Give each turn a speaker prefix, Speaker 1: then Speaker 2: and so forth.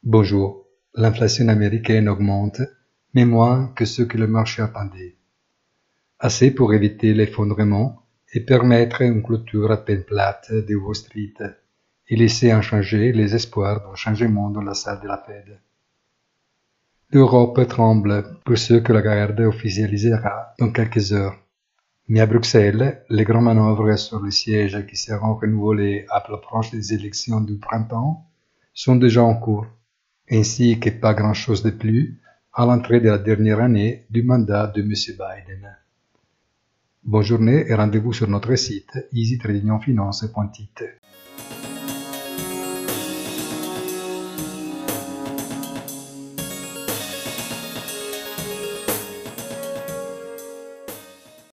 Speaker 1: Bonjour, l'inflation américaine augmente, mais moins que ce que le marché attendait. Assez pour éviter l'effondrement et permettre une clôture à peine plate de Wall Street et laisser inchangés les espoirs d'un changement dans la salle de la Fed. L'Europe tremble pour ce que la garde officialisera dans quelques heures. Mais à Bruxelles, les grandes manœuvres sur les sièges qui seront renouvelés à l'approche des élections du printemps sont déjà en cours, ainsi que pas grand-chose de plus à l'entrée de la dernière année du mandat de M. Biden. Bonne journée et rendez-vous sur notre site easytradingfinance.it.